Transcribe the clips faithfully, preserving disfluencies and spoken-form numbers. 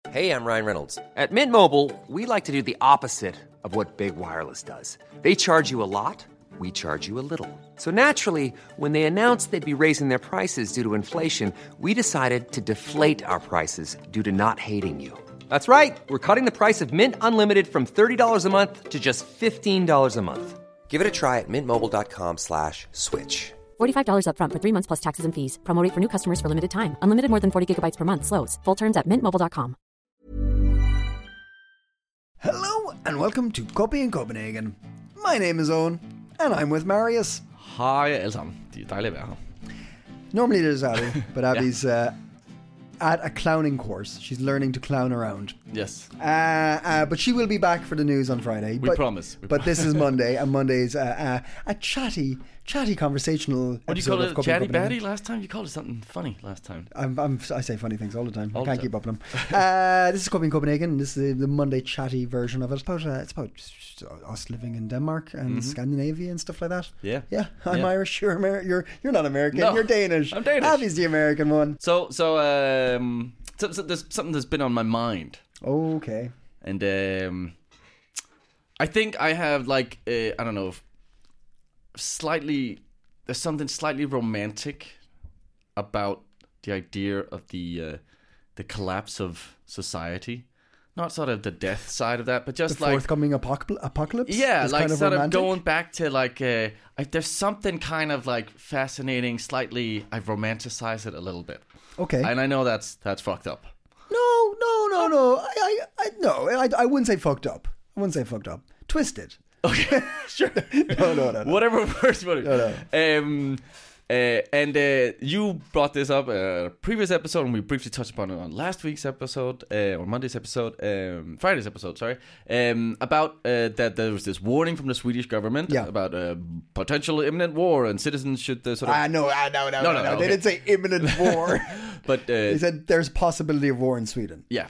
Hey, I'm Ryan Reynolds. At Mint Mobile, we like to do the opposite of what Big Wireless does. They charge you a lot, we charge you a little. So naturally, when they announced they'd be raising their prices due to inflation, we decided to deflate our prices due to not hating you. That's right. We're cutting the price of Mint Unlimited from thirty dollars a month to just fifteen dollars a month. Give it a try at mintmobile.com slash switch. forty-five dollars up front for three months plus taxes and fees. Promo rate for new customers for limited time. Unlimited more than forty gigabytes per month. Slows full terms at mint mobile dot com. Hello and welcome to Copy in Copenhagen. My name is Owen and I'm with Marius. Hej alle sammen. Det er dejligt at være her. Normally there's Abby, but Abby's uh, at a clowning course. She's learning to clown around. Yes. Uh, uh, but she will be back for the news on Friday. We but, promise. We but promise. this is Monday, and Monday is uh, uh, a chatty, chatty conversational. What do you call it? Chatty batty last time? You called it something funny last time. I'm, I'm, I say funny things all the time. All I can't the keep up with them. uh, this is Copy in Copenhagen. This is the, the Monday chatty version of it. It's about, uh, it's about us living in Denmark and mm-hmm. Scandinavia and stuff like that. Yeah. Yeah. I'm yeah. Irish. You're Amer- You're you're not American. No, you're Danish. I'm Danish. Abby's the American one. So, so, um, so, so there's something that's been on my mind. Okay. And um, I think I have like, uh, I don't know, slightly, there's something slightly romantic about the idea of the uh, the collapse of society. Not sort of the death side of that, but just the like forthcoming apoc- apocalypse. Yeah, like kind of sort romantic? of going back to like, uh, I, there's something kind of like fascinating. Slightly, I romanticize it a little bit. Okay, and I know that's that's fucked up. No, no, no, no. I, I, I no, I, I wouldn't say fucked up. I wouldn't say fucked up. Twisted. Okay, sure. no, no, no, no. Whatever works for you. No, no. Um, uh, and uh, you brought this up uh, a previous episode, and we briefly touched upon it on last week's episode, uh, or Monday's episode, um, Friday's episode, sorry, um, about uh, that there was this warning from the Swedish government yeah. about uh, potential imminent war, and citizens should uh, sort of... Ah, no, ah, no, no, no, no, no, no, no. okay. They didn't say imminent war. But uh, they said there's a possibility of war in Sweden. Yeah.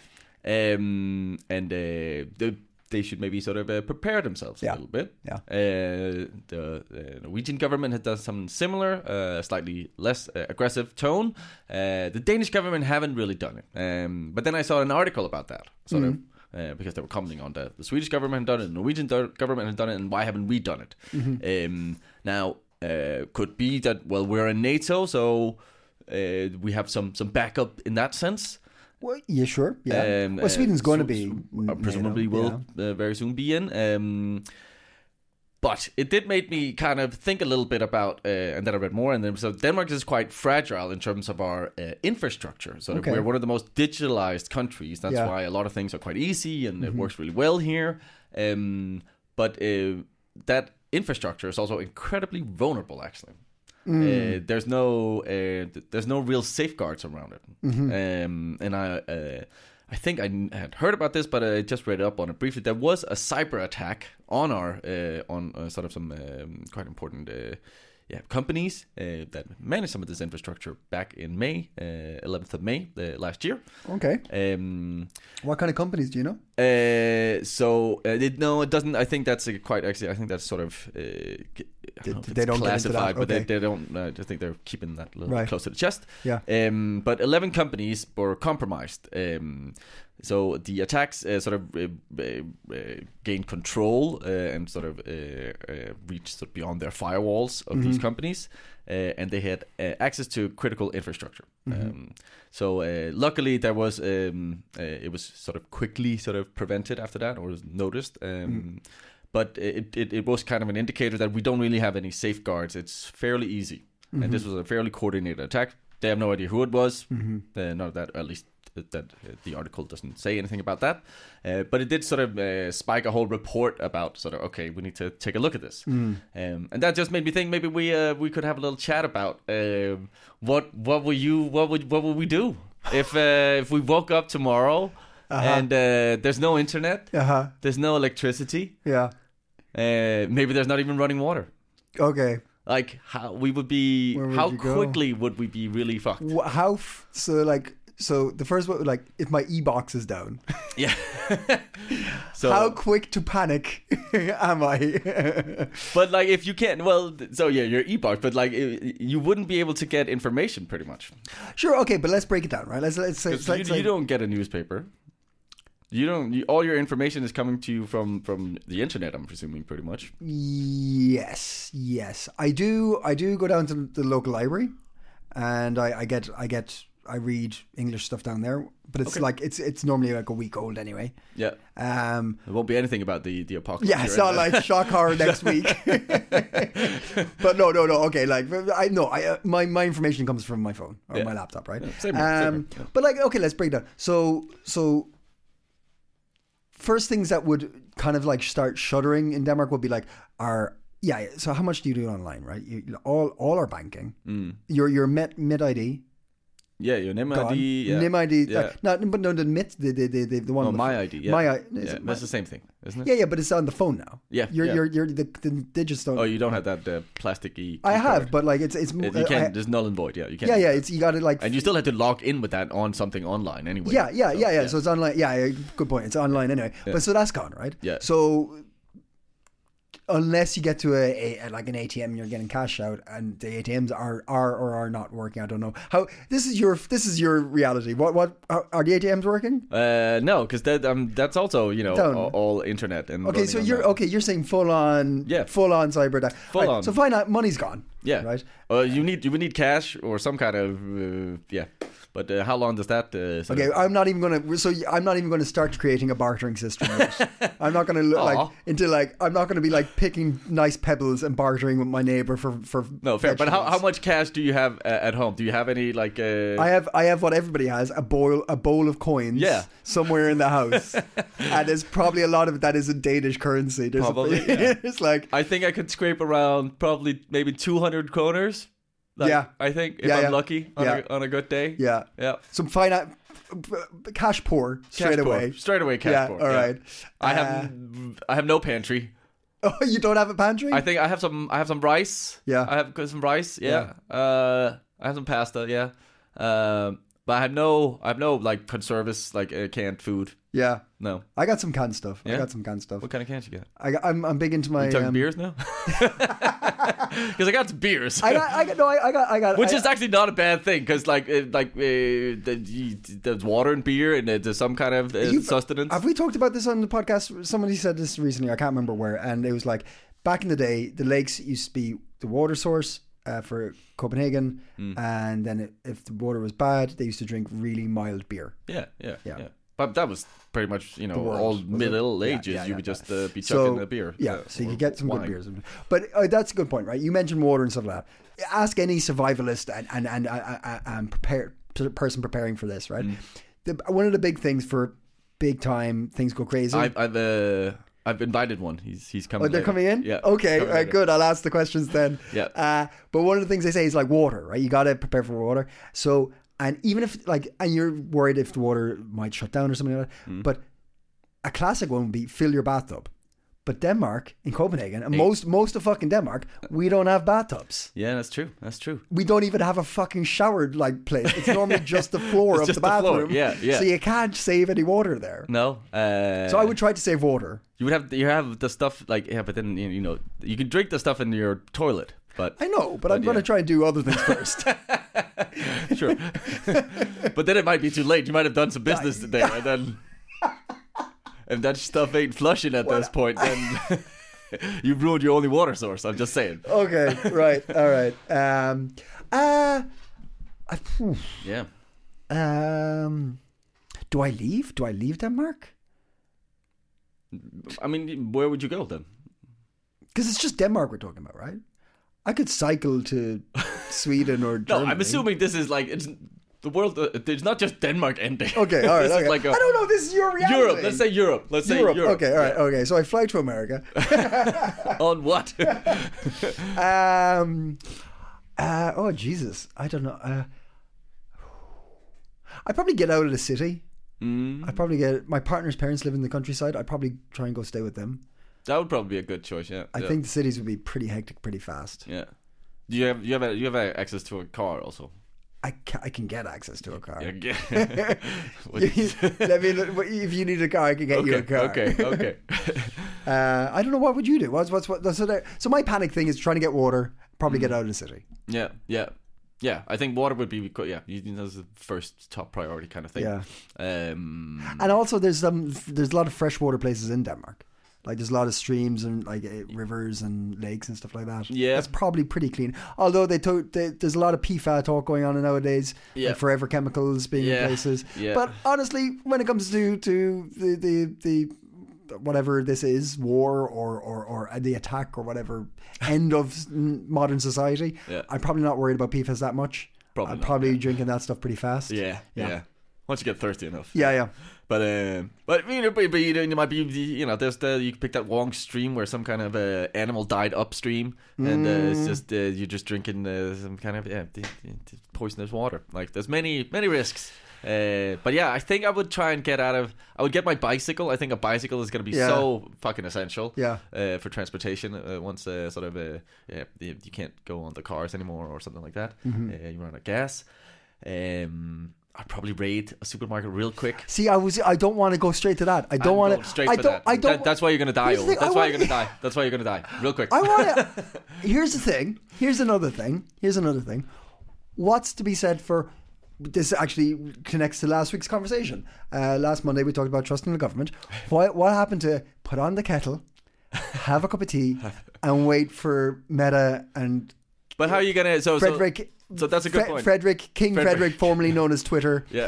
Um, and uh, the, they should maybe sort of uh, prepare themselves yeah. a little bit. Yeah. Uh, the uh, Norwegian government has done something similar, uh, slightly less uh, aggressive tone. Uh, the Danish government haven't really done it. Um, but then I saw an article about that, sort mm-hmm. of, uh, because they were commenting on the, the Swedish government had done it, the Norwegian do- government had done it, and why haven't we done it? Mm-hmm. Um, now, uh, could be that, well, we're in NATO, so uh, we have some, some backup in that sense. Well, yeah, sure. Yeah. Um, well, Sweden's uh, going so, to be so, uh, presumably NATO, will yeah. uh, very soon be in. Um, but it did make me kind of think a little bit about, uh, and then I read more. And then so Denmark is quite fragile in terms of our uh, infrastructure. So okay. we're one of the most digitalized countries. That's yeah. why a lot of things are quite easy and mm-hmm. it works really well here. Um, but uh, that infrastructure is also incredibly vulnerable, actually. Mm. Uh, there's no uh, there's no real safeguards around it, mm-hmm. um, and I uh, I think I had heard about this, but I just read up on it briefly. There was a cyber attack on our uh, on uh, sort of some um, quite important uh, yeah companies uh, that manage some of this infrastructure back in May, uh, eleventh of May uh, last year. Okay. Um, what kind of companies do you know? Uh, so uh, it, no, it doesn't. I think that's a quite actually. I think that's sort of. Uh, They, know if they it's don't classified, get into that. Okay. but they, they don't. Uh, I think they're keeping that a little right. close to the chest. Yeah. Um, but eleven companies were compromised. Um, so the attacks uh, sort of uh, uh, gained control uh, and sort of uh, uh, reached sort of beyond their firewalls of mm-hmm. these companies, uh, and they had uh, access to critical infrastructure. Mm-hmm. Um, so uh, luckily, there was um, uh, it was sort of quickly sort of prevented after that, or was noticed. Um, mm. But it, it it was kind of an indicator that we don't really have any safeguards. It's fairly easy. Mm-hmm. And this was a fairly coordinated attack. They have no idea who it was. Mm-hmm. Uh, not that, or at least that uh, the article doesn't say anything about that. Uh, but it did sort of uh, spike a whole report about sort of, okay, we need to take a look at this. Mm. Um, and that just made me think maybe we uh, we could have a little chat about uh, what what will you what would what would we do if uh, if we woke up tomorrow. Uh-huh. And uh, there's no internet. Uh-huh. There's no electricity. Yeah. Uh, maybe there's not even running water. Okay. Like how we would be. Would how quickly go? Would we be really fucked? How f- so? Like so. The first one, like if my e-box is down. Yeah. So how quick to panic am I? But like if you can't, well, so yeah, your e-box, but like you wouldn't be able to get information pretty much. Sure. Okay, but let's break it down, right? Let's let's say you, let's you say, don't get a newspaper. You don't. You, all your information is coming to you from from the internet. I'm presuming, pretty much. Yes, yes. I do. I do go down to the local library, and I, I get. I get. I read English stuff down there, but it's Okay. like it's it's normally like a week old anyway. Yeah. Um. There won't be anything about the the apocalypse. Yeah, or it's not anything. like shock horror next week. But no, no, no. Okay, like I no, I uh, my my information comes from my phone or Yeah. my laptop, right? Yeah, same here, same um, here, yeah. But like, okay, let's break it down. So, so first things that would kind of like start shuddering in Denmark would be like our yeah. So how much do you do online, right? You, all all our banking, Mm. your your Met Mid I D. Yeah, your NIM Gone. I D. Yeah. NIM I D. Yeah. Uh, no, but no, the Mit, the the the, the, the one. Oh, on the my phone. I D. Yeah. My I. Is Yeah, it my- that's the same thing, isn't it? Yeah, yeah, but it's on the phone now. Yeah, you're yeah. you're you're the, the digits don't. Oh, you don't have that uh, plastic-y. I key have, card. but like it's it's. It- uh, you can't. I- There's null and void. Yeah, you can't. yeah, do yeah. that. It's you got to like. And you still have to log in with that on something online anyway. yeah, yeah, So, yeah, yeah. So it's online. Yeah, yeah, good point. It's online anyway. But so that's gone, right? Yeah. So unless you get to a, a like an A T M, you're getting cash out, and the A T Ms are are or are not working. I don't know how. This is your this is your reality. What what are, are the A T Ms working? Uh, no, because that um, that's also you know Down. all, all internet and. Okay, running so on you're that. okay. You're saying full on, Yeah. full on cyber attack. Full Right, on. So fine, uh, money's gone. Yeah. right. Uh, you need you would need cash or some kind of uh, yeah. But uh, how long does that? Uh, sort Okay, of- I'm not even gonna. So I'm not even gonna start creating a bartering system. with it. I'm not gonna look like Aw. into like. I'm not gonna be like picking nice pebbles and bartering with my neighbor for for. No, fair. But how, vegetables. how much cash do you have uh, at home? Do you have any like? Uh, I have I have what everybody has, a bowl a bowl of coins Yeah. somewhere in the house. And there's probably a lot of it that is in Danish currency. There's a- Probably, yeah. it's like I think I could scrape around probably maybe two hundred kroners. Like, Yeah. I think if Yeah, I'm yeah. lucky on, Yeah. a, on a good day. yeah. Yeah. Some finance cash poor straight Cash poor. away. Straight away cash Yeah, poor. all yeah. right. I have Uh, I have no pantry. Oh, you don't have a pantry? I think I have some I have some rice. Yeah. I have got some rice. Yeah. Uh, I have some pasta. Yeah. Um, but I have no I have no like conserves like uh, canned food. yeah. No. I got some canned stuff. I Yeah? got some canned stuff. What kind of cans you get? I got, I'm I'm big into my You talking um, beers now? Because I got some beers. I got I got no I, I got I got Which I, is actually not a bad thing, because like uh, like uh, the, you- there's water and beer, and uh, there's some kind of uh, You- sustenance. Have we talked about this on the podcast? Somebody said this recently. I can't remember where, and it was like back in the day, the lakes used to be the water source uh, for Copenhagen, Mm. and then it, if the water was bad, they used to drink really mild beer. Yeah, yeah, Yeah. yeah, But that was pretty much, you know, The world, all was it? Middle Yeah, Ages. yeah, you yeah, would yeah. just uh, be So, chucking a beer. Yeah, uh, so you or could get some wine. good beers. But uh, that's a good point, right? You mentioned water and stuff like that. Ask any survivalist and and and, and, and prepared person preparing for this, right? Mm. The, one of the big things for big time things go crazy. I've I've, uh, I've invited one. He's he's coming. Oh, they're later. coming in? Yeah. Okay, coming all right, later. good. I'll ask the questions then. Yeah. Uh, but one of the things they say is like water, right? You got to prepare for water. So, and even if like, and you're worried if the water might shut down or something like that, Mm. but a classic one would be fill your bathtub. But Denmark, in Copenhagen, and most most of fucking Denmark, we don't have bathtubs. Yeah, that's true. That's true. We don't even have a fucking shower like place. It's normally just the floor It's of just the the floor. bathroom. Yeah, yeah. So you can't save any water there. No. Uh, So I would try to save water. You would have you have the stuff like yeah, but then you you know you can drink the stuff in your toilet, but I know, but, I'm going yeah. to try and do other things first. sure. But then it might be too late. You might have done some business today, and then if that stuff ain't flushing at this point, then you've ruined your only water source. I'm just saying. Okay, right, all right. Um, uh, I, phew, Yeah. um, do I leave? Do I leave Denmark? I mean, where would you go then? Because it's just Denmark we're talking about, right? I could cycle to Sweden or No, Germany. I'm assuming this is like it's the world. Uh, it's not just Denmark ending. Okay, all right. This is okay. like a- I don't know. This is your reality. Europe. Let's say Europe. Let's say Europe. Europe. Okay, all right. Okay, so I fly to America. On what? um, uh, oh Jesus, I don't know. Uh, I'd probably get out of the city. Mm, I'd probably get my partner's parents live in the countryside. I'd probably try and go stay with them. that would probably be a good choice. Yeah. I yeah. think the cities would be pretty hectic, pretty fast. Yeah. Do you have you have a, you have a access to a car also? I can, I can get access to a car. Yeah. yeah. What- Let me. If you need a car, I can get you a okay. car. Okay. Okay. Uh, I don't know. What would you do? What's what's what? So, there, so my panic thing is trying to get water. Probably get out of the city. Yeah. Yeah. Yeah, I think water would be, yeah, you know, that's the first top priority kind of thing. Yeah. Um, and also, there's some there's a lot of freshwater places in Denmark. Like there's a lot of streams and like uh, rivers and lakes and stuff like that. Yeah, that's probably pretty clean. Although they, to- they there's a lot of P F A S talk going on nowadays. Yeah, like forever chemicals being yeah. in places. Yeah. But honestly, when it comes to to the the, the whatever this is, war or or or the attack or whatever end of modern society, yeah. I'm probably not worried about P F A S that much. Probably I'm not, probably yeah. drinking that stuff pretty fast. Yeah, yeah, yeah. Once you get thirsty enough. Yeah, yeah. But uh, but you know, but, but you know, you might be, you know, there's the you can pick that long stream where some kind of uh, animal died upstream, and uh, it's just uh, you're just drinking uh, some kind of yeah the, the poisonous water. Like there's many many risks. Uh, but yeah, I think I would try and get out of. I would get my bicycle. I think a bicycle is going to be yeah. so fucking essential. Yeah. Uh, for transportation, uh, once uh, sort of uh, yeah, you, you can't go on the cars anymore or something like that. Mm-hmm. Uh, you run out of gas. Um. I'd probably raid a supermarket real quick. See, I was. I don't want to go straight to that. I don't want to. Straight I for don't. that. I don't. That, that's why you're gonna die. Here's the thing, That's I why want- you're gonna die. That's why you're gonna die. Real quick. I want to. Here's the thing. Here's another thing. Here's another thing. What's to be said for? This actually connects to last week's conversation. Uh, last Monday we talked about trusting the government. What what happened to put on the kettle, have a cup of tea, and wait for Meta and But how are you gonna? So Frederick. So, so that's a good Fre- point. Frederick King Frederick. Frederick, formerly known as Twitter. Yeah.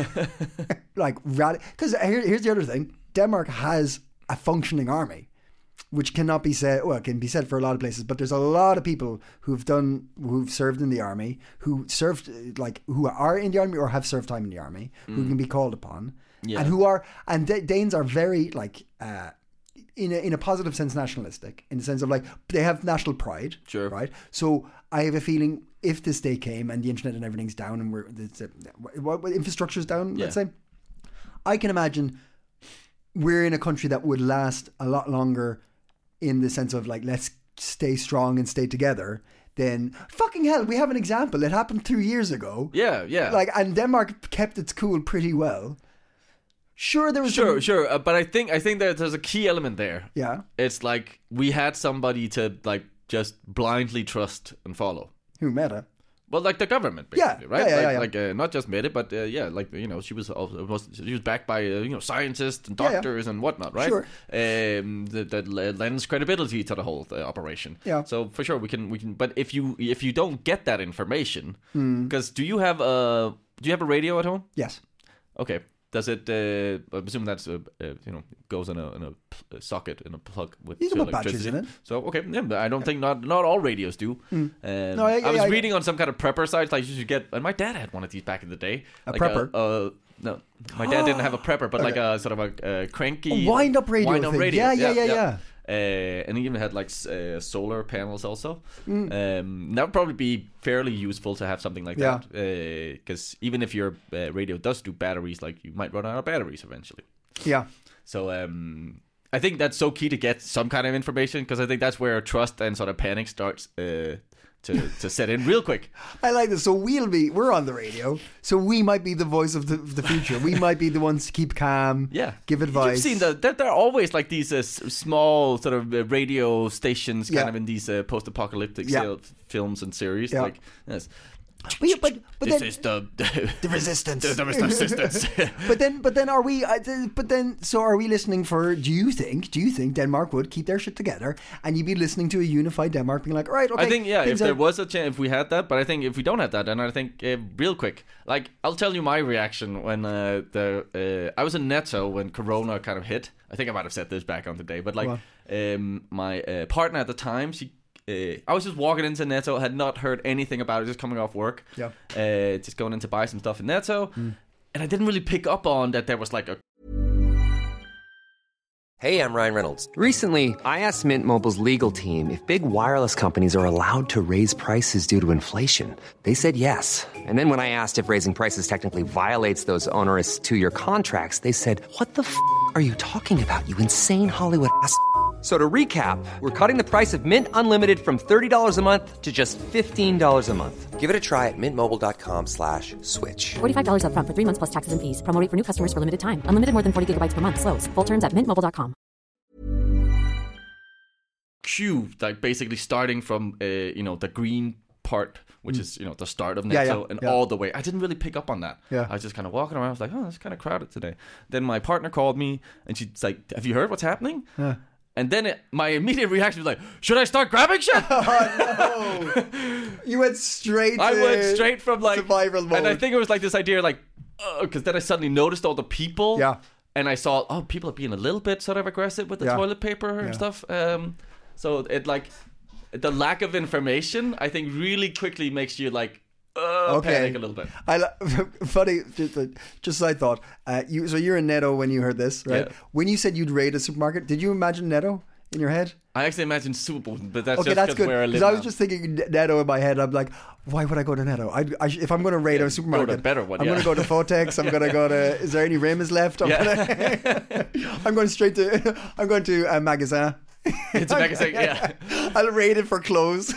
like rad. Because here, here's the other thing: Denmark has a functioning army, which cannot be said. Well, it can be said for a lot of places, but there's a lot of people who've done, who've served in the army, who served like who are in the army or have served time in the army, mm. who can be called upon, yeah. and who are and D- Danes are very like. Uh, In a, in a positive sense, nationalistic, in the sense of like they have national pride, sure, right? So I have a feeling if this day came and the internet and everything's down and we're the, what, what infrastructure's down, yeah. let's say, I can imagine we're in a country that would last a lot longer, in the sense of like let's stay strong and stay together. Then fucking hell, we have an example. It happened two years ago. Yeah, yeah. Like, and Denmark kept its cool pretty well. Sure, there was sure, some... sure, uh, but I think I think that there's a key element there. Yeah, it's like we had somebody to like just blindly trust and follow. Who, Meta? Well, like the government, basically, yeah, right? Yeah, yeah, like, yeah. like uh, not just Meta, but uh, yeah, like you know, she was also, was she was backed by uh, you know scientists and doctors yeah, yeah. and whatnot, right? Sure. Um, that, that lends credibility to the whole uh, operation. Yeah. So for sure we can we can, but if you if you don't get that information, Hmm. because mm. do you have a do you have a radio at home? Yes. Okay. Does it? Uh, I presume that's uh, uh, you know goes in a in a pl- socket in a plug with you can put electricity. batteries in it. So okay, yeah, but I don't think not not all radios do. Mm. Um, no, yeah, yeah, I was yeah, reading yeah. on some kind of prepper site like you should get, and my dad had one of these back in the day. A like prepper? A, uh, no, my dad didn't have a prepper, but Okay. like a sort of a uh, cranky A wind-up radio wind-up thing. radio. Yeah, yeah, yeah, yeah. Uh, and he even had like uh, solar panels also. Mm. Um, that would probably be fairly useful to have something like Yeah. that. Because uh, even if your uh, radio does do batteries, like you might run out of batteries eventually. Yeah. So um, I think that's so key to get some kind of information, because I think that's where trust and sort of panic starts uh, to to set in real quick. I like this. So we'll be we're on the radio, so we might be the voice of the, of the future. We might be the ones to keep calm. Yeah, give advice. You've seen that there, there are always like these uh, small sort of uh, radio stations, kind yeah. of in these uh, post-apocalyptic yeah. films and series. Yeah. Like, yes. But, yeah, but, but this then, is the the resistance. the, the resistance. but then, but then, are we? Uh, but then, so are we listening for? Do you think? Do you think Denmark would keep their shit together, and you'd be listening to a unified Denmark, being like, all right, okay. I think yeah. If are... there was a chance, if we had that, but I think if we don't have that, then I think uh, real quick, like I'll tell you my reaction when uh, the uh, I was in Netto when Corona kind of hit. I think I might have said this back on the day, but like um, my uh, partner at the time, she. Uh, I was just walking into Netto, had not heard anything about it, just coming off work. Yeah. Uh, just going in to buy some stuff in Netto. Mm. And I didn't really pick up on that there was like a... Hey, I'm Ryan Reynolds. Recently, I asked Mint Mobile's legal team if big wireless companies are allowed to raise prices due to inflation. They said yes. And then when I asked if raising prices technically violates those onerous two-year contracts, they said, what the f*** are you talking about, you insane Hollywood ass f- So to recap, we're cutting the price of Mint Unlimited from thirty dollars a month to just fifteen dollars a month. Give it a try at mintmobile.com slash switch. forty-five dollars up front for three months plus taxes and fees. Promo rate for new customers for limited time. Unlimited more than forty gigabytes per month. Slows full terms at mint mobile dot com. Queue, like basically starting from uh, you know the green part, which mm. is, you know, the start of Netto, yeah, yeah, and yeah. all the way. I didn't really pick up on that. Yeah. I was just kind of walking around. I was like, oh, it's kind of crowded today. Then my partner called me, and she's like, have you heard what's happening? Yeah. And then it, my immediate reaction was like, should I start grabbing shit? Oh, no. You went straight I to went straight from like... survival mode. And I think it was like this idea like, because uh, then I suddenly noticed all the people. Yeah. And I saw, oh, people are being a little bit sort of aggressive with the yeah. toilet paper and yeah. stuff. Um, so it like, the lack of information, I think, really quickly makes you like, uh, okay. panic a little bit. I funny, just, just as I thought. Uh, you so you're in Netto when you heard this, right? Yeah. When you said you'd raid a supermarket, did you imagine Netto in your head? I actually imagined Superboom, but that's okay, just that's good. where I live. Because I was now. just thinking Netto in my head. I'm like, why would I go to Netto? I, I, if I'm going to raid Yeah, a supermarket, go to a better one, I'm yeah. going to go to Fotex. I'm going to go to. Is there any Rimmels left? I'm, Yeah. gonna, I'm going straight to. I'm going to a Magasin. It's a magazine, yeah. I'll raid it for clothes.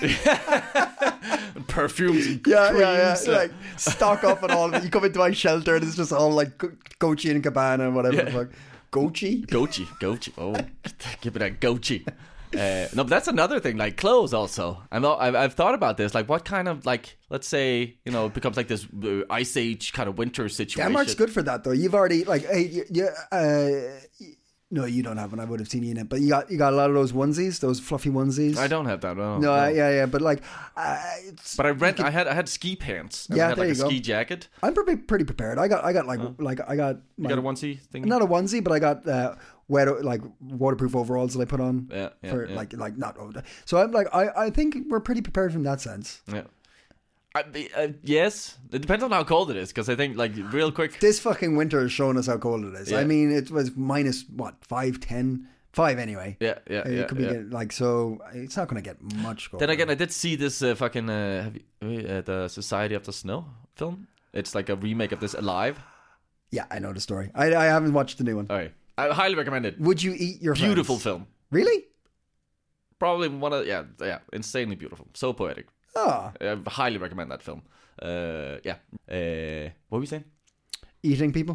Perfumes and Yeah, creams. yeah, yeah. So, like stock up and all of it. You come into my shelter and it's just all like Gu- Gucci and Cabana and whatever Yeah. the fuck. Gucci? Gucci, Gucci. Oh, give me that Gucci. Uh, no, but that's another thing. Like clothes, also. I'm. I've, I've thought about this. Like, what kind of like, let's say, you know, it becomes like this uh, ice age kind of winter situation. Denmark's good for that though. You've already like, hey, you, uh, no, you don't have one. I would have seen you in it, but you got you got a lot of those onesies, those fluffy onesies. I don't have that. No, No, no. uh, yeah, yeah, but like, uh, it's, But I rent. I had. I had ski pants. And Yeah, I had there like you a go. ski jacket. I'm pretty pretty prepared. I got I got like like I got You my, got a onesie thing. not a onesie, but I got uh, wet like waterproof overalls that I put on. Yeah, yeah, for yeah. like like not. So I'm like I I think we're pretty prepared from that sense. Yeah. I, uh, yes, it depends on how cold it is. Because I think, like, real quick. This fucking winter has shown us how cold it is. Yeah. I mean, it was minus what five, ten, five anyway. Yeah, yeah, it yeah. could be yeah. get, like so. It's not going to get much colder. Then again, I did see this uh, fucking uh, have you, uh, the Society of the Snow film. It's like a remake of this Alive. Yeah, I know the story. I I haven't watched the new one. All right, I highly recommend it. Would you eat your Beautiful friends? film. Really? Probably one of yeah yeah insanely beautiful, so poetic. Oh, I highly recommend that film. Uh, yeah. Uh, what were we saying? eating people.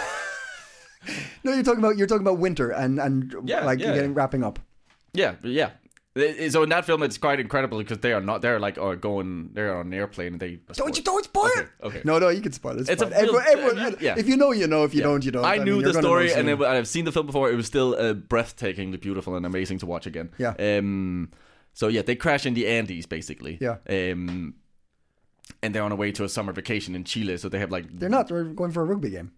No, you're talking about you're talking about winter and and Yeah, like yeah, getting yeah. wrapping up. Yeah, yeah. It- So in that film, it's quite incredible because they are not. They're like, oh, going. They're on an airplane and they. Don't you don't spoil Okay, it. okay. No, no, you can spoil it. It's, It's a fine. real- everyone, everyone, uh, yeah. If you know, you know. If you Yeah. don't, you don't. I, mean, knew you're the gonna story, know and, soon. it, and I've seen the film before. It was still uh, breathtakingly beautiful and amazing to watch again. Yeah. Um. So yeah, they crash in the Andes basically. Yeah. Um. And they're on a way to a summer vacation in Chile, so they have like They're not. They're going for a rugby game.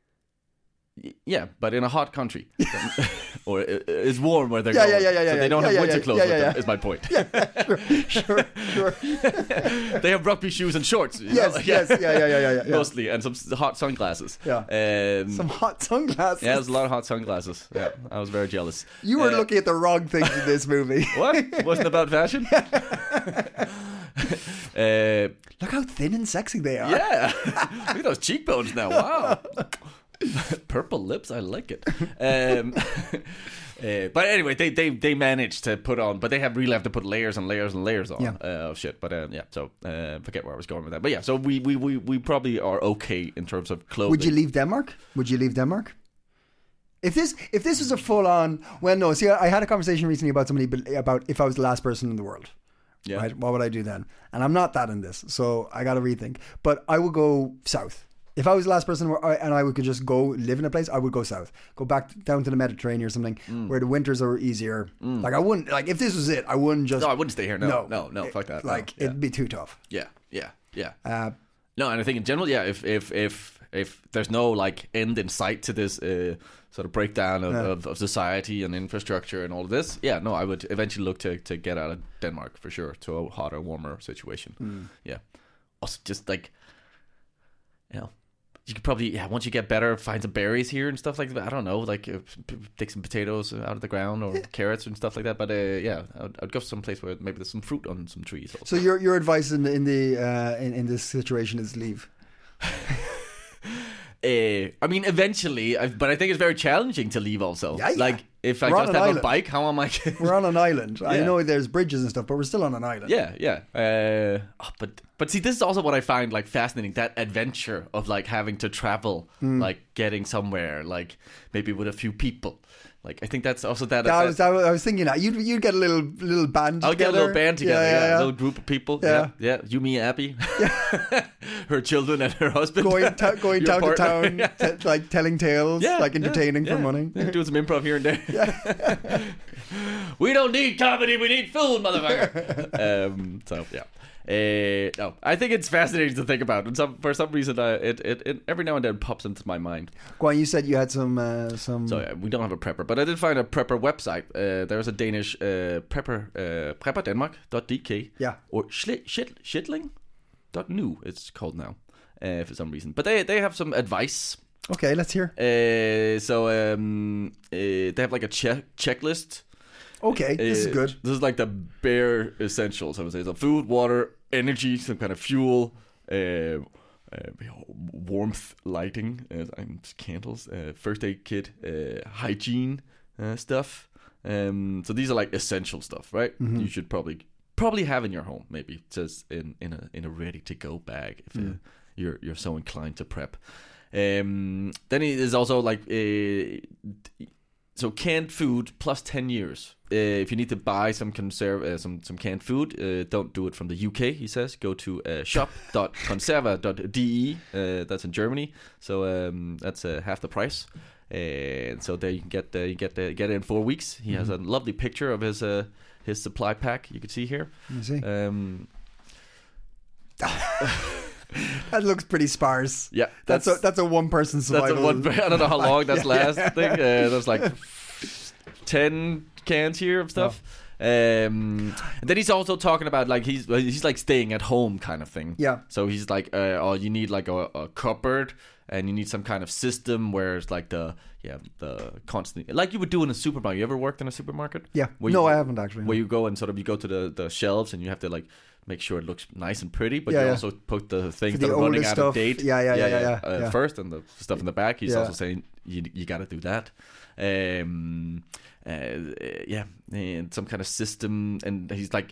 yeah, but in a hot country, or it, it's warm where they're Yeah, going. yeah, yeah, yeah, So yeah, they don't yeah, have yeah, winter yeah, clothes yeah, with yeah, them. Is my point. Sure, sure. They have rugby shoes and shorts. you Yes, know? yes, yeah, yeah, yeah, yeah, yeah. Mostly, and some s- hot sunglasses. Yeah. Um, Some hot sunglasses. yeah, there's a lot of hot sunglasses. Yeah, I was very jealous. You were Uh, looking at the wrong things in this movie. What? Wasn't about fashion? uh, Look how thin and sexy they are. yeah. Look at those cheekbones now. Wow. Purple lips. I like it. Um, uh, but anyway, they, they they managed to put on, but they have really have to put layers and layers and layers on Yeah. uh, of shit. But um, yeah, so uh, forget where I was going with that. But yeah, so we, we, we, we probably are okay in terms of clothing. Would you leave Denmark? Would you leave Denmark? If this if this was a full on, well, no. See, I had a conversation recently about somebody about if I was the last person in the world. Yeah. Right? What would I do then? And I'm not that in this, so I got to rethink. But I would go south. If I was the last person where I, and I would could just go live in a place, I would go south. Go back down to the Mediterranean or something Mm. where the winters are easier. Like I wouldn't like if this was it, I wouldn't just No, I wouldn't stay here. No, No. no, no, fuck that. no. like yeah. it'd be too tough. yeah, yeah, yeah. Uh, No, and I think in general, yeah, if if if if there's no like end in sight to this uh, sort of breakdown of, Yeah. of, of society and infrastructure and all of this, yeah, no, I would eventually look to, to get out of Denmark for sure to a hotter, warmer situation. Yeah, also just like you know, you could probably yeah once you get better, find some berries here and stuff like that. I don't know, like uh, p- dig some potatoes out of the ground or carrots and stuff like that. But uh, yeah, I'd, I'd go some place where maybe there's some fruit on some trees. Also. so your your advice in in the uh, in, in this situation is leave. Uh, I mean, eventually, I've, but I think it's very challenging to leave. Also, Yeah, yeah. like if I We're on just an have island. a bike, how am I? We're on an island. I Yeah. know there's bridges and stuff, but we're still on an island. Yeah, yeah. Uh, oh, but but see, this is also what I find like fascinating. That adventure of like having to travel, Hmm. like getting somewhere, like maybe with a few people. Like I think that's also that. Yeah, I that- was, I was I was thinking that you'd you'd get a little little band. I'll together. get a little band together, Yeah, yeah, yeah, yeah. a little group of people. Yeah. Yeah, yeah. You, me, Abby, her children, and her husband. Going ta- going Your town to partner. town, t- like telling tales, Yeah, like entertaining yeah, for yeah. money. Yeah, doing some improv here and there. We don't need comedy, we need food, motherfucker. um, so yeah. Uh, no, I think it's fascinating to think about, and some, for some reason, uh, it, it it every now and then pops into my mind. Go on, you said you had some uh, some. So yeah, we don't have a prepper, but I did find a prepper website. Uh, there's a Danish uh, prepper, uh, prepperdenmark dot d k, Yeah. or shit, shit, shitling dot nu. It's called now, uh, for some reason. But they they have some advice. Okay, let's hear. Uh, so um, uh, they have like a check checklist. Okay, this is Uh, good. This is like the bare essentials, I would say. So food, water, energy, some kind of fuel, uh, uh, warmth, lighting, uh, and candles, uh, first aid kit, uh, hygiene uh, stuff. Um, so these are like essential stuff, right? Mm-hmm. You should probably probably have in your home, maybe just in in a in a ready to go bag if uh, you're you're so inclined to prep. Um, then it is also like. Uh, So canned food plus ten years. Uh, if you need to buy some conserve, uh, some some canned food, uh, don't do it from the U K. He says go to uh, shop dot conserva dot d e. Uh, that's in Germany, so um, that's uh, half the price. And so there you can get uh, you get uh, get it in four weeks. He has a lovely picture of his uh, his supply pack. You can see here. Let me see. Um, That looks pretty sparse. yeah, That's a that's a one person That's a survival. one. I don't know how long that's Yeah, last thing. Uh, there's like ten cans here of stuff. Um, and then he's also talking about like he's he's like staying at home kind of thing. Yeah. So he's like, uh, oh, you need like a, a cupboard, and you need some kind of system where it's like the yeah the constant like you would do in a supermarket. You ever worked in a supermarket? Yeah. Where No, you, I haven't actually. Where you go and sort of you go to the, the shelves and you have to like make sure it looks nice and pretty, but Yeah, you yeah. also put the things For the that are running older out stuff. of date. Yeah, yeah, yeah, yeah, uh, yeah. First, and the stuff in the back. He's Yeah. also saying you you got to do that. Um, uh, yeah, and some kind of system, and he's like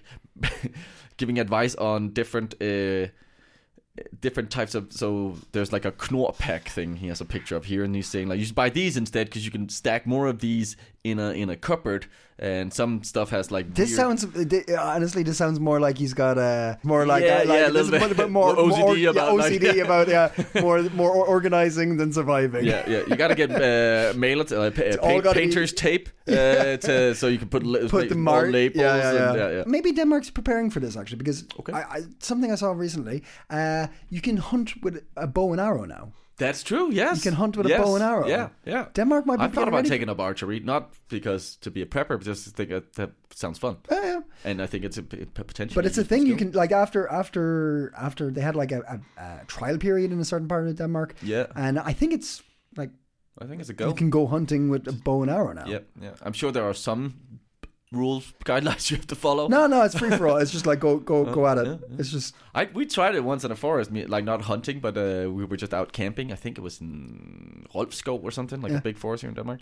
giving advice on different. Uh, different types of, so there's like a Knorr pack thing he has a picture of here, and he's saying like you should buy these instead because you can stack more of these in a in a cupboard, and some stuff has like This weird- sounds th- honestly. This sounds more like he's got a more like Yeah, a, like yeah, a this little is bit. more, more, More O C D more yeah, about, O C D like- about yeah more more or- organizing than surviving. Yeah, yeah. You got to get uh, mailer, uh, pa- all paint, gotta be- painter's tape uh, to so you can put li- Put the more mark. labels. Yeah, yeah, yeah. And, yeah, yeah. Maybe Denmark's preparing for this actually because Okay. I, I, something I saw recently. Uh, you can hunt with a bow and arrow now. That's true. Yes, You can hunt with a yes. bow and arrow. Yeah, yeah. Denmark might be I've thought getting about ready taking up archery, not because to be a prepper, but just to think that, that sounds fun. Yeah, yeah. And I think it's a, a potential. But it's a thing you can like after after after they had like a, a, a trial period in a certain part of Denmark. Yeah. And I think it's like I think it's a go. you can go hunting with a bow and arrow now. Yeah, yeah. I'm sure there are some rules, guidelines you have to follow. No, no, it's free for all. It's just like go go go at it. yeah, yeah. It's just I we tried it once in a forest, me- like not hunting, but uh, we were just out camping. I think it was in Rolfskov or something, like Yeah. a big forest here in Denmark.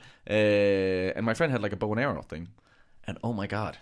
Uh, and my friend had like a bow and arrow thing, and oh my god,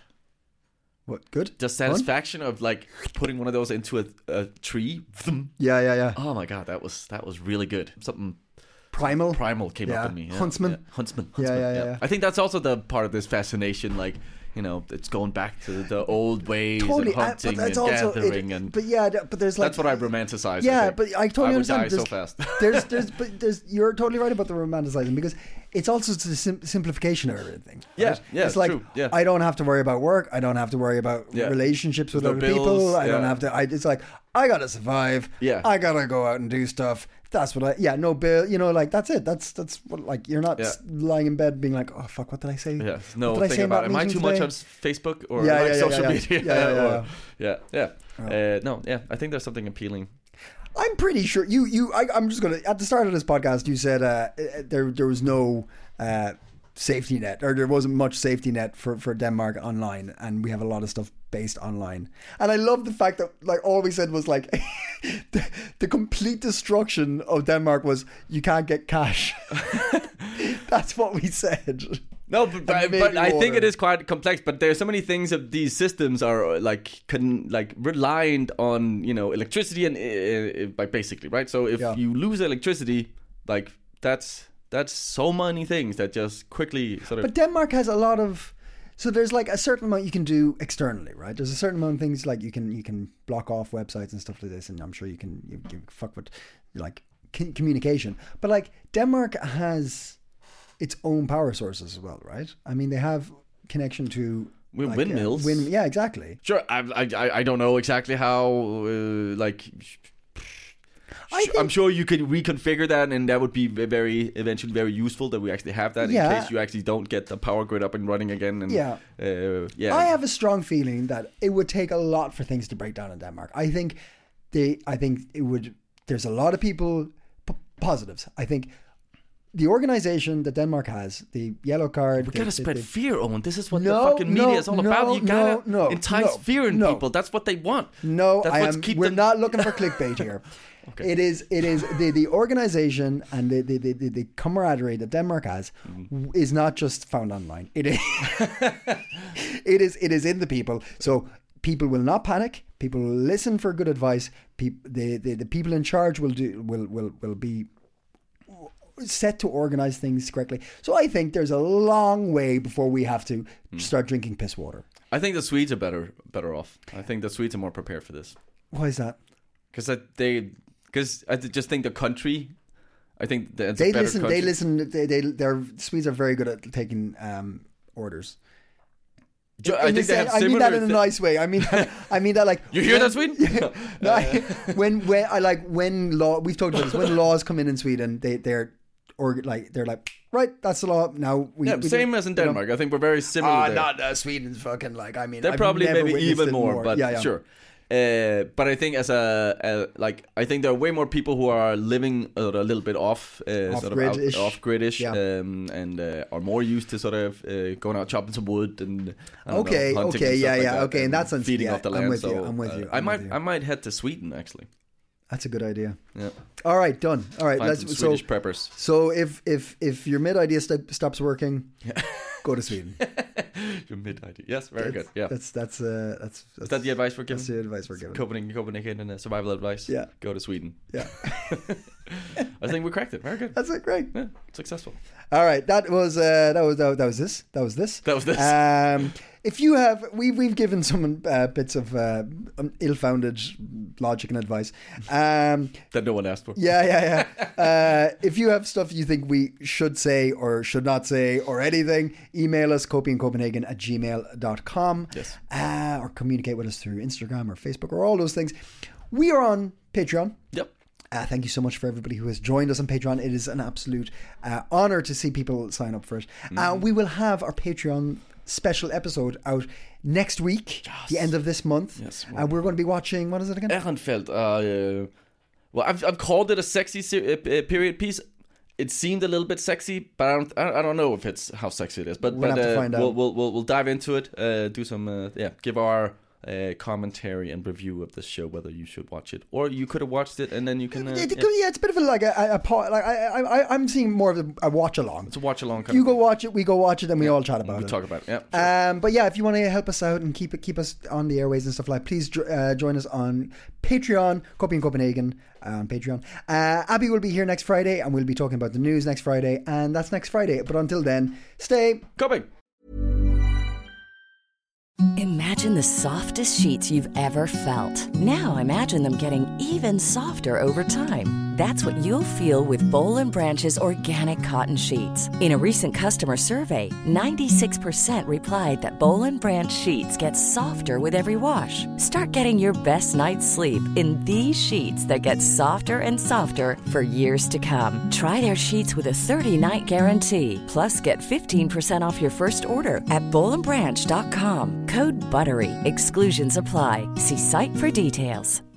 what good? the satisfaction of like putting one of those into a, a tree. Yeah, yeah, yeah. Oh my god, that was that was really good. Something Primal. primal came Yeah. up in me. Yeah, Huntsman. yeah. Huntsman. Yeah, Huntsman. yeah, yeah, yeah. I think that's also the part of this fascination, like. You know, it's going back to the old ways Totally, and uh, hunting but and it's also gathering, it, and but yeah, th- but there's like that's what I romanticize. I Yeah, think. but I totally I would understand. die so There's- fast. there's, there's, but there's. You're totally right about the romanticizing because it's also the sim- simplification of everything. Yeah, right? yeah, It's like true, yeah. I don't have to worry about work. I don't have to worry about Yeah. relationships with No other bills, people. I don't yeah. have to. I, it's like I gotta survive. Yeah. I gotta go out and do stuff. That's what I. Yeah, no bill. You know, like that's it. That's that's what like you're not Yeah. s- lying in bed being like, oh fuck, what did I say? Yeah, no What did I thing say about. Am I meeting too much today? on Facebook or Yeah, like yeah, yeah, social yeah. media? Yeah, yeah, Or- yeah, yeah. Uh, no, yeah. I think there's something appealing. I'm pretty sure you you I, I'm just gonna at the start of this podcast you said uh, there there was no uh, safety net or there wasn't much safety net for, for Denmark online, and we have a lot of stuff based online, and I love the fact that like all we said was like the, the complete destruction of Denmark was you can't get cash. That's what we said. No, but, but, maybe but I think water. it is quite complex. But there's so many things of these systems are like can like reliant on you know electricity and uh, uh, basically right. So if Yeah. you lose electricity, like that's that's so many things that just quickly sort of. But Denmark has a lot of. So there's like a certain amount you can do externally, right? There's a certain amount of things like you can you can block off websites and stuff like this, and I'm sure you can you, you fuck with like c- communication. But like Denmark has its own power sources as well, right? I mean, they have connection to With like, windmills. Uh, wind, yeah, exactly. Sure, I, I I don't know exactly how uh, like. I think, I'm sure you could reconfigure that, and that would be very eventually very useful that we actually have that Yeah. in case you actually don't get the power grid up and running again. And Yeah. uh, yeah. I have a strong feeling that it would take a lot for things to break down in Denmark. I think they, I think it would. There's a lot of people p- positives. I think the organization that Denmark has, the yellow card. We the, gotta the- spread the- fear, Owen. This is what No, the fucking media no, is all no, about. You gotta no, no, entice no, fear in no. people. That's what they want. No, That's I what's am. keep We're them- not looking for clickbait here. Okay. It is. It is the the organization and the the, the, the camaraderie that Denmark has Mm-hmm. is not just found online. It is. it is. It is in the people. So people will not panic. People will listen for good advice. People, the, the the people in charge will do will will will be set to organize things correctly. So I think there's a long way before we have to start drinking piss water. I think the Swedes are better better off. I think the Swedes are more prepared for this Why is that? because they because I just think the country. I think that's a They better listen. country. They listen. They they they're Swedes are very good at taking um, orders. Jo- I In think the they have sen- I mean that in similar a thi- nice way. I mean, I mean that like You hear that, Sweden? no, I, when when I like when law we've talked about this when laws come in in Sweden, they they're or like they're like right, that's the law. Now we Yeah, we same do- as in you know, Denmark. I think we're very similar. Ah, there. not uh, Sweden's fucking like. I mean, They're I've probably never maybe witnessed even it more, but yeah, yeah. sure. Uh, but I think as a, a like I think there are way more people who are living a, a little bit off, uh, sort of out, Off-grid-ish. off gridish, Yeah. um, and uh, are more used to sort of uh, going out chopping some wood and I don't Okay, know, hunting okay, and stuff yeah, like yeah, that, okay, in and that sense, feeding yeah, off the I'm land. with so you, I'm with uh, you, I I'm might with you. I might head to Sweden actually. That's a good idea. Yeah, All right, done. All right, find let's some so Swedish preppers. so if if if your mid idea st- stops working, go to Sweden. Your mid idea, yes, very good. Yeah, That's that's uh that's, that's is that the advice we're giving? That's the advice we're giving. Copenhagen, Copenhagen, uh, survival advice. Yeah. go to Sweden. Yeah, I think we cracked it. Very good. that's it. Great. Yeah, successful. All right, that was uh, that was that, was this. That was this. That was this. Um, if you have, we we've given some uh, bits of uh, um, ill-founded logic and advice. Um, That no one asked for. yeah, yeah, yeah. Uh, if you have stuff you think we should say or should not say or anything, email us copenhagen at gmail dot com. Yes. Uh, or communicate with us through Instagram or Facebook or all those things. We are on Patreon. Yep. Uh, thank you so much for everybody who has joined us on Patreon. It is an absolute uh, honor to see people sign up for it. Uh, we will have our Patreon special episode out next week, the end of this month. Yes, Uh, we're going to be watching, what is it again? Ehrenfeld. Uh, uh, well, I've I've called it a sexy se- uh, uh, period piece. It seemed a little bit sexy, but I don't I don't know if it's how sexy it is. But We'll but have to uh, find we'll, out. we'll we'll we'll dive into it. Uh, do some uh, yeah, give our uh, commentary and review of this show, whether you should watch it or you could have watched it and then you can. Uh, It- it- yeah, yeah, it's a bit of a like a, a, a po- like I, I I I'm seeing more of a, a watch along. it's a watch along. Kind You of go thing. watch it, we go watch it, and we all chat about We it. talk about it. Yeah. sure. Um, but yeah, if you want to help us out and keep it, keep us on the airways and stuff like, please jo- uh, join us on Patreon, Copy in Copenhagen uh, on Patreon. Uh, Abby will be here next Friday, and we'll be talking about the news next Friday, and that's next Friday. But until then, stay. Coping. Imagine the softest sheets you've ever felt. Now imagine them getting even softer over time. That's what you'll feel with Bowl and Branch's organic cotton sheets. In a recent customer survey, ninety-six percent replied that Bowl and Branch sheets get softer with every wash. Start getting your best night's sleep in these sheets that get softer and softer for years to come. Try their sheets with a thirty-night guarantee. Plus, get fifteen percent off your first order at bowl and branch dot com. Code BUTTERY. Exclusions apply. See site for details.